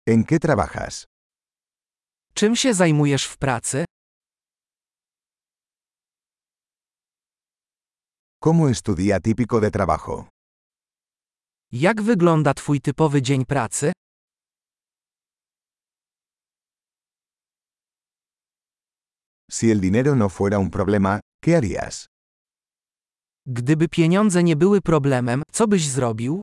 ¿En qué trabajas? Czym się zajmujesz w pracy? ¿Cómo es tu día típico de trabajo? Jak wygląda twój typowy dzień pracy? Si el dinero no fuera un problema, ¿qué harías? Gdyby pieniądze nie były problemem, co byś zrobił?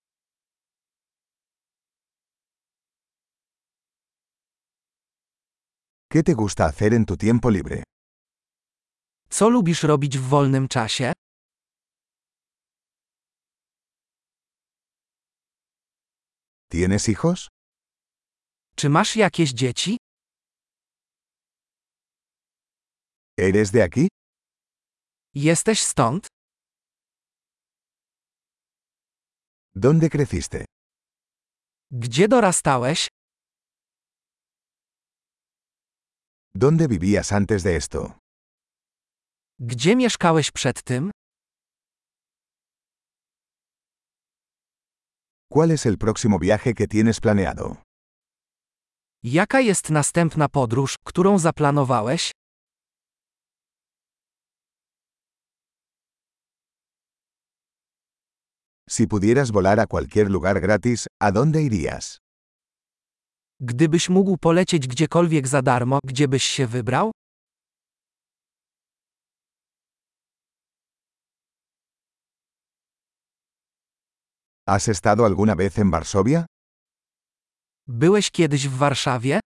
¿Qué te gusta hacer en tu tiempo libre? Co lubisz robić w wolnym czasie? ¿Tienes hijos? Czy masz jakieś dzieci? ¿Eres de aquí? Jesteś stąd? ¿Dónde creciste? Gdzie dorastałeś? ¿Dónde vivías antes de esto? Gdzie mieszkałeś przed tym? ¿Cuál es el próximo viaje que tienes planeado? Jaka jest następna podróż, którą zaplanowałeś? Si pudieras volar a cualquier lugar gratis, ¿a dónde irías? Gdybyś mógł polecieć gdziekolwiek za darmo, gdzie byś się wybrał? ¿Has estado alguna vez en Varsovia? Byłeś kiedyś w Warszawie?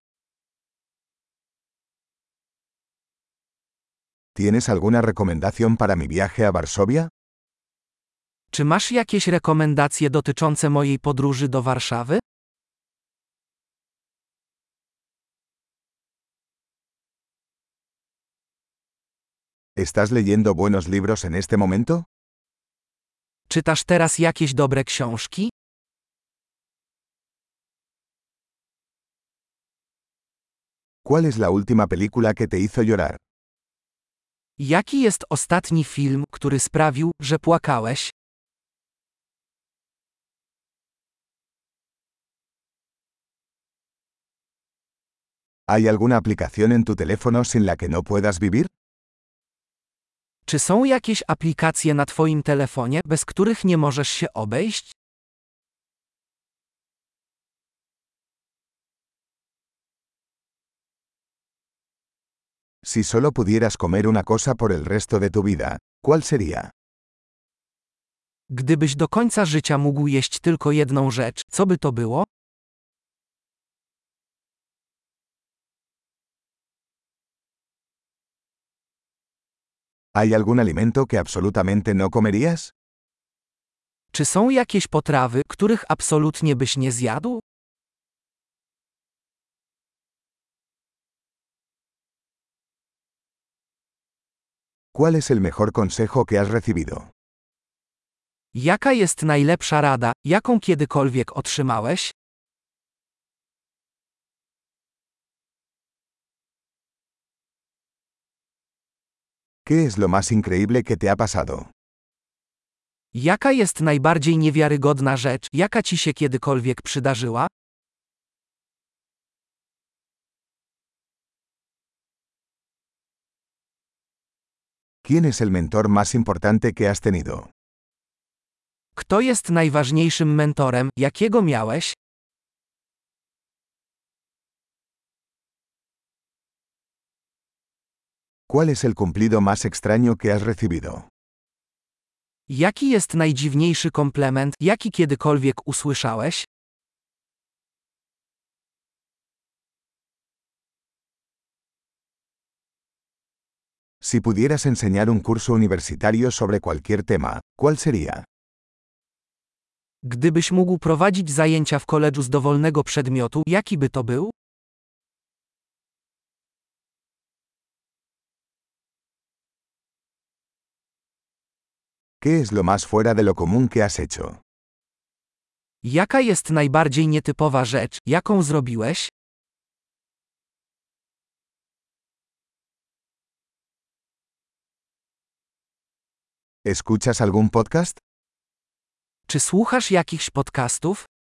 ¿Tienes alguna recomendación para mi viaje a Varsovia? Czy masz jakieś rekomendacje dotyczące mojej podróży do Warszawy? ¿Estás leyendo buenos libros en este momento? Czytasz teraz jakieś dobre książki? ¿Cuál es la última película que te hizo llorar? Jaki jest ostatni film, który sprawił, że płakałeś? ¿Hay alguna aplicación en tu teléfono sin la que no puedas vivir? Czy są jakieś aplikacje na twoim telefonie, bez których nie możesz się obejść? Si solo pudieras comer una cosa por el resto de tu vida, ¿cuál sería? Gdybyś do końca życia mógł jeść tylko jedną rzecz, co by to było? ¿Hay algún alimento que absolutamente no comerías? Czy są jakieś potrawy, których absolutnie byś nie zjadł? ¿Cuál es el mejor consejo que has recibido? Jaka jest najlepsza rada, jaką kiedykolwiek otrzymałeś? ¿Qué es lo más increíble que te ha pasado? Jaka jest najbardziej niewiarygodna rzecz, jaka ci się kiedykolwiek przydarzyła? ¿Quién es el mentor más importante que has tenido? Kto jest najważniejszym mentorem, jakiego miałeś? ¿Cuál es el cumplido más extraño que has recibido? Jaki jest najdziwniejszy komplement, jaki kiedykolwiek usłyszałeś? Si pudieras enseñar un curso universitario sobre cualquier tema, ¿cuál sería? Gdybyś mógł prowadzić zajęcia w koledżu z dowolnego przedmiotu, jaki by to był? ¿Qué es lo más fuera de lo común que has hecho? Jaka jest najbardziej nietypowa rzecz, jaką zrobiłeś? ¿Escuchas algún podcast? Czy słuchasz jakichś podcastów?